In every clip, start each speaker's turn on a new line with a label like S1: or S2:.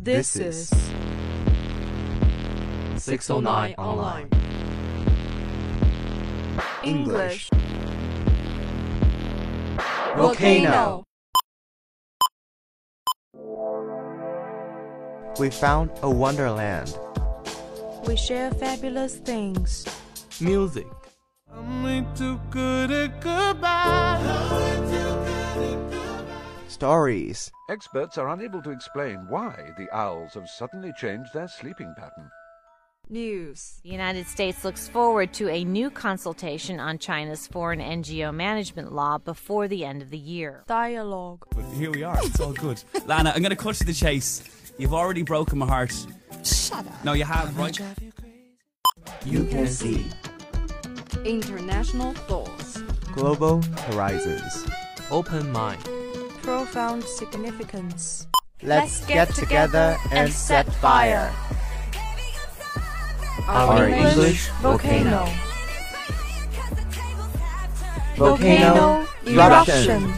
S1: This is 609 Online English Volcano.
S2: We found a wonderland.
S3: We share fabulous things.
S1: Music.
S2: Stories.
S4: Experts are unable to explain why the owls have suddenly changed their sleeping pattern.
S3: News.
S5: The United States looks forward to a new consultation on China's foreign NGO management law before the end of the year.
S3: Dialogue.
S6: But here we are, it's all good. Lana, I'm going to cut to the chase. You've already broken my heart.
S7: Shut up.
S6: No, you have, right?
S1: You can see
S3: International thoughts.
S2: Global horizons.
S1: open mind.
S3: Profound significance.
S2: Let's get together and set fire.
S3: Our
S1: English
S3: volcano.
S2: Volcano eruption.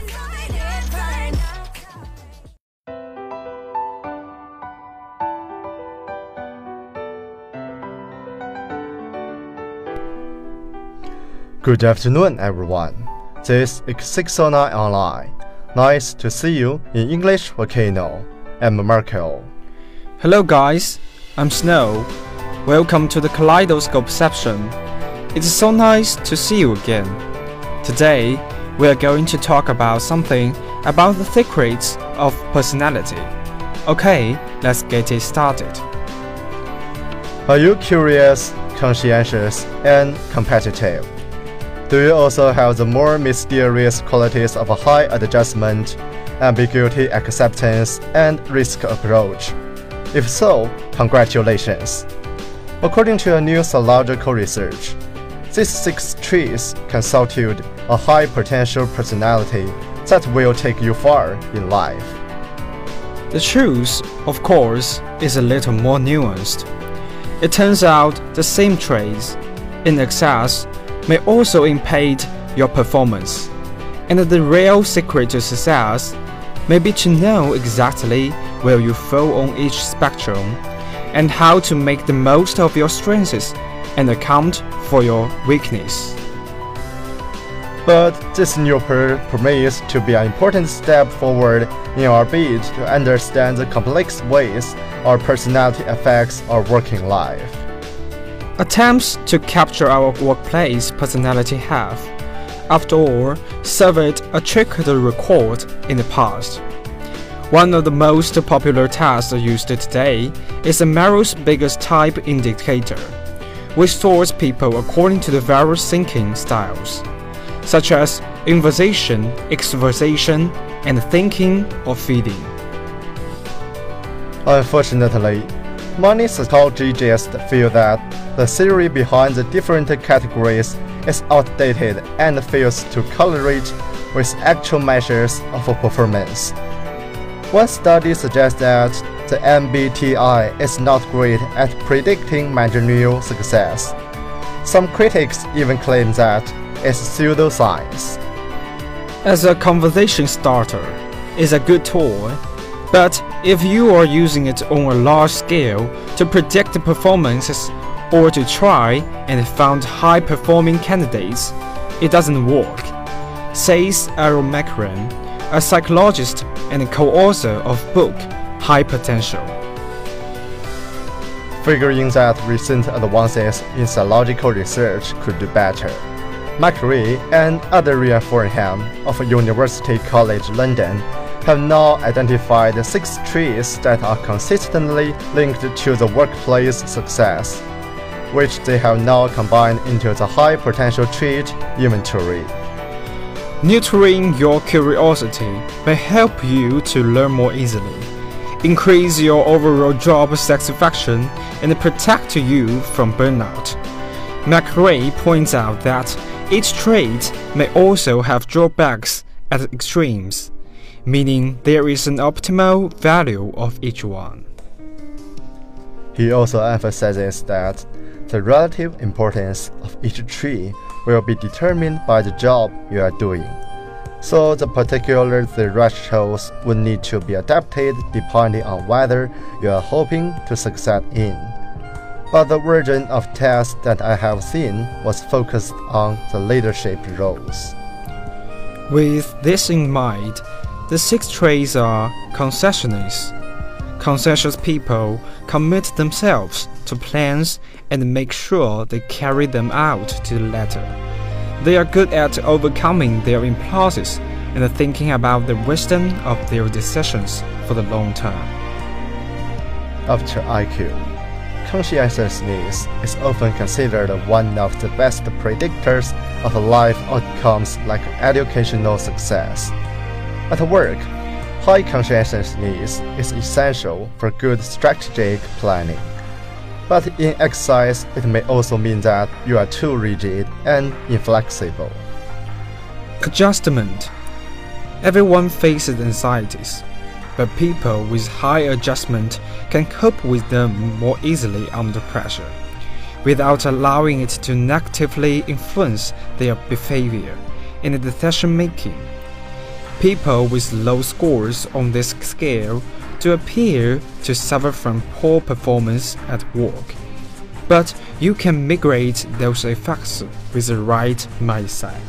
S8: Good afternoon, everyone. This is 609 Online. Nice to see you in English Volcano. I'm Marco.
S9: Hello guys, I'm Snow. Welcome to the Kaleidoscope section. It's so nice to see you again. Today, we are going to talk about something about the secrets of personality. Okay, let's get it started.
S8: Are you curious, conscientious, and competitive? Do you also have the more mysterious qualities of a high adjustment, ambiguity acceptance, and risk approach? If so, congratulations! According to a new psychological research, these 6 traits constitute a high potential personality that will take you far in life.
S9: The truth, of course, is a little more nuanced. It turns out the same traits, in excess, may also impede your performance, and the real secret to success may be to know exactly where you fall on each spectrum and how to make the most of your strengths and account for your weakness.
S8: But this new promise to be an important step forward in our bid to understand the complex ways our personality affects our working life.
S9: Attempts to capture our workplace personality have, after all, served a trick record in the past. One of the most popular tests used today is the Myers-Briggs Type Indicator, which sorts people according to the various thinking styles, such as inversion, extroversion, and thinking or feeling.
S8: Unfortunately, many psychologists feel that the theory behind the different categories is outdated and fails to correlate with actual measures of performance. One study suggests that the MBTI is not great at predicting managerial success. Some critics even claim that it's pseudoscience.
S9: As a conversation starter, it's a good tool, but if you are using it on a large scale to predict the performances or to try and find high-performing candidates, it doesn't work, says Aaron McCran, a psychologist and co-author of book High Potential.
S8: Figuring that recent advances in psychological research could do better, McRae and other Ian Forham of University College London have now identified 6 traits that are consistently linked to the workplace success, which they have now combined into the high potential trait inventory.
S9: Nurturing your curiosity may help you to learn more easily, increase your overall job satisfaction, and protect you from burnout. McRae points out that each trait may also have drawbacks at extremes, meaning there is an optimal value of each one.
S8: He also emphasizes that the relative importance of each trait will be determined by the job you are doing. so the particular thresholds would need to be adapted depending on whether you are hoping to succeed in. But the version of test that I have seen was focused on the leadership roles.
S9: With this in mind, the 6 traits are conscientious. Conscientious people commit themselves to plans and make sure they carry them out to the letter. They are good at overcoming their impulses and thinking about the wisdom of their decisions for the long term.
S8: After IQ, conscientiousness is often considered one of the best predictors of life outcomes like educational success. At work, high conscientiousness is essential for good strategic planning. But in exercise, it may also mean that you are too rigid and inflexible.
S9: Adjustment. Everyone faces anxieties, but people with high adjustment can cope with them more easily under pressure, without allowing it to negatively influence their behavior and decision-making. People with low scores on this scale do appear to suffer from poor performance at work, but you can mitigate those effects with the right mindset.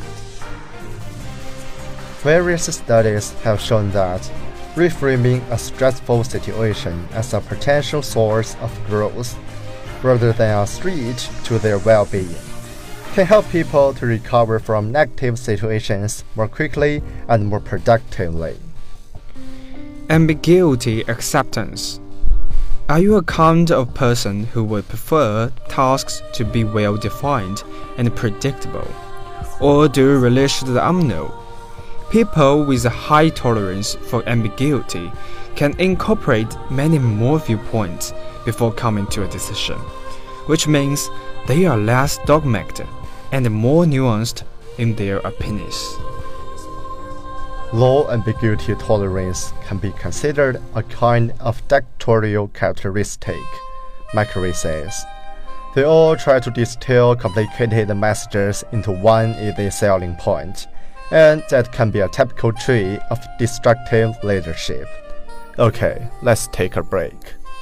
S8: Various studies have shown that reframing a stressful situation as a potential source of growth, rather than a threat to their well-being, can help people to recover from negative situations more quickly and more productively.
S9: Ambiguity acceptance. Are you a kind of person who would prefer tasks to be well-defined and predictable, or do you relish the unknown? People with a high tolerance for ambiguity can incorporate many more viewpoints before coming to a decision, which means they are less dogmatic and more nuanced in their opinions.
S8: Low ambiguity tolerance can be considered a kind of dictatorial characteristic, Macquarie says. They all try to distill complicated messages into one easy selling point, and that can be a typical trait of destructive leadership. Okay, let's take a break.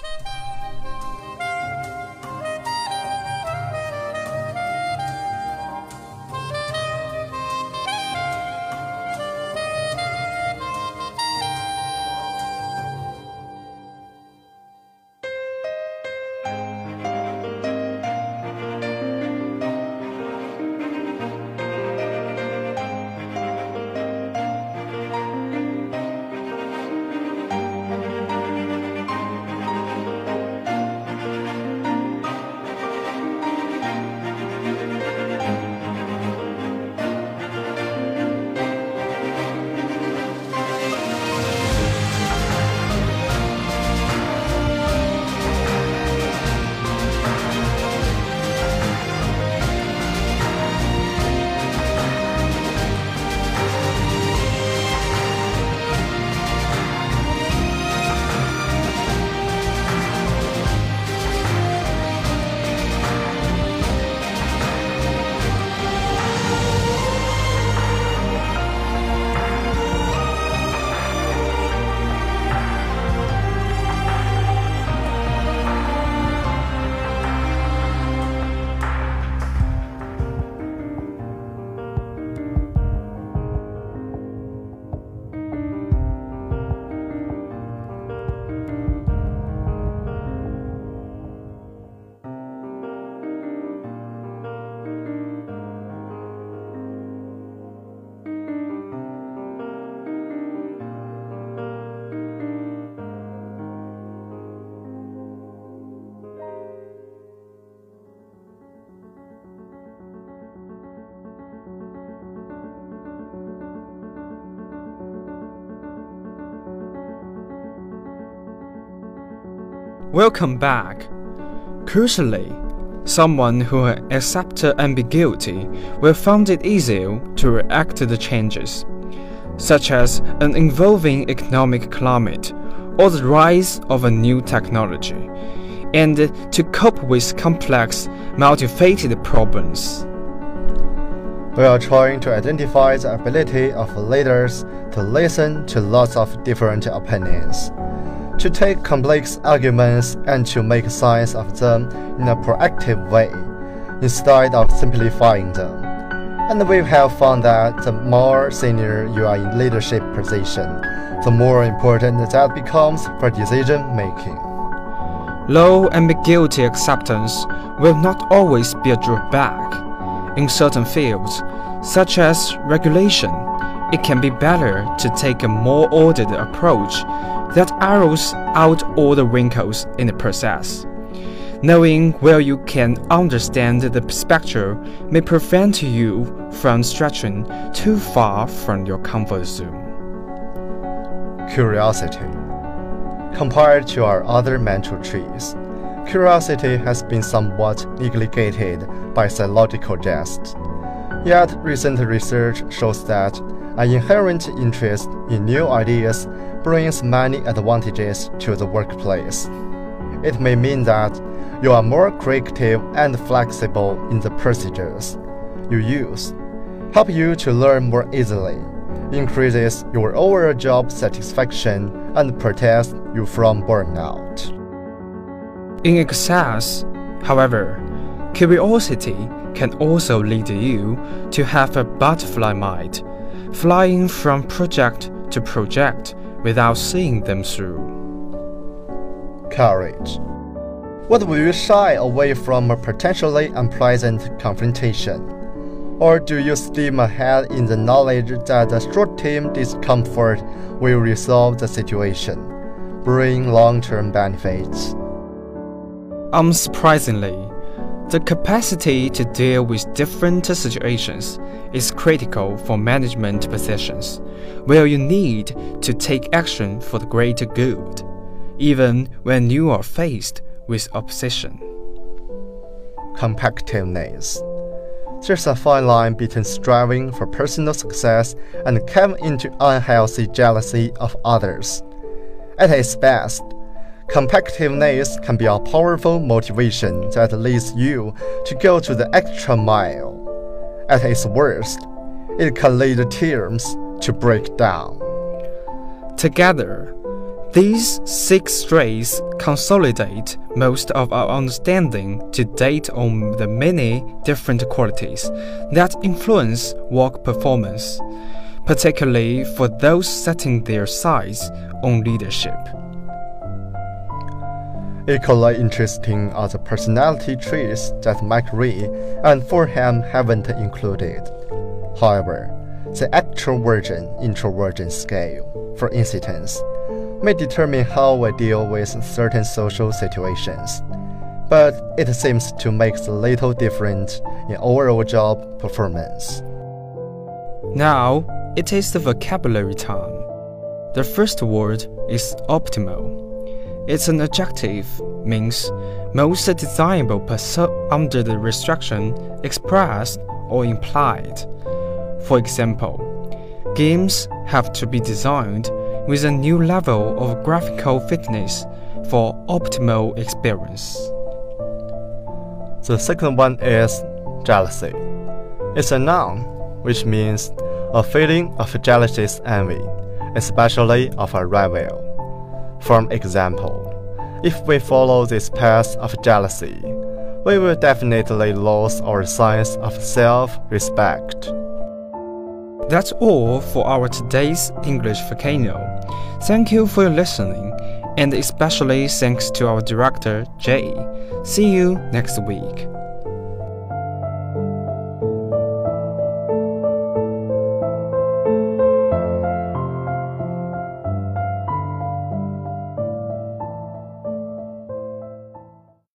S9: Welcome back. Crucially, someone who accepts ambiguity will find it easier to react to the changes, such as an evolving economic climate or the rise of a new technology, and to cope with complex, multifaceted problems.
S8: We are trying to identify the ability of leaders to listen to lots of different opinions, to take complex arguments and to make sense of them in a proactive way, instead of simplifying them. And we have found that the more senior you are in leadership position, the more important that becomes for decision making.
S9: Low ambiguity acceptance will not always be a drawback. In certain fields, such as regulation, it can be better to take a more ordered approach that arrows out all the wrinkles in the process. Knowing where you can understand the perspective may prevent you from stretching too far from your comfort zone.
S8: Curiosity. Compared to our other mental traits, curiosity has been somewhat neglected by psychologists. Yet recent research shows that an inherent interest in new ideas brings many advantages to the workplace. It may mean that you are more creative and flexible in the procedures you use, help you to learn more easily, increases your overall job satisfaction, and protects you from burnout.
S9: In excess, however, curiosity can also lead you to have a butterfly mind, flying from project to project without seeing them through.
S8: Courage. What will you shy away from a potentially unpleasant confrontation? Or do you steam ahead in the knowledge that the short-term discomfort will resolve the situation, bring long-term benefits?
S9: Unsurprisingly, the capacity to deal with different situations is critical for management positions, where you need to take action for the greater good, even when you are faced with opposition.
S8: Competitiveness. There's a fine line between striving for personal success and caving into unhealthy jealousy of others. At its best, competitiveness can be a powerful motivation that leads you to go to the extra mile. At its worst, it can lead teams to break down.
S9: Together, these 6 traits consolidate most of our understanding to date on the many different qualities that influence work performance, particularly for those setting their sights on leadership.
S8: Equally interesting are the personality traits that McRae and Forham haven't included. However, the extroversion-introversion scale, for instance, may determine how we deal with certain social situations, but it seems to make little difference in overall job performance.
S9: Now, it is the vocabulary time. The first word is optimal. It's an adjective, means most desirable under the restriction expressed or implied. For example, games have to be designed with a new level of graphical fitness for optimal experience.
S8: The second one is jealousy. It's a noun, which means a feeling of jealous envy, especially of a rival. For example, if we follow this path of jealousy, we will definitely lose our sense of self-respect.
S9: That's all for our today's English Volcano. Thank you for your listening, and especially thanks to our director, Jay. See you next week.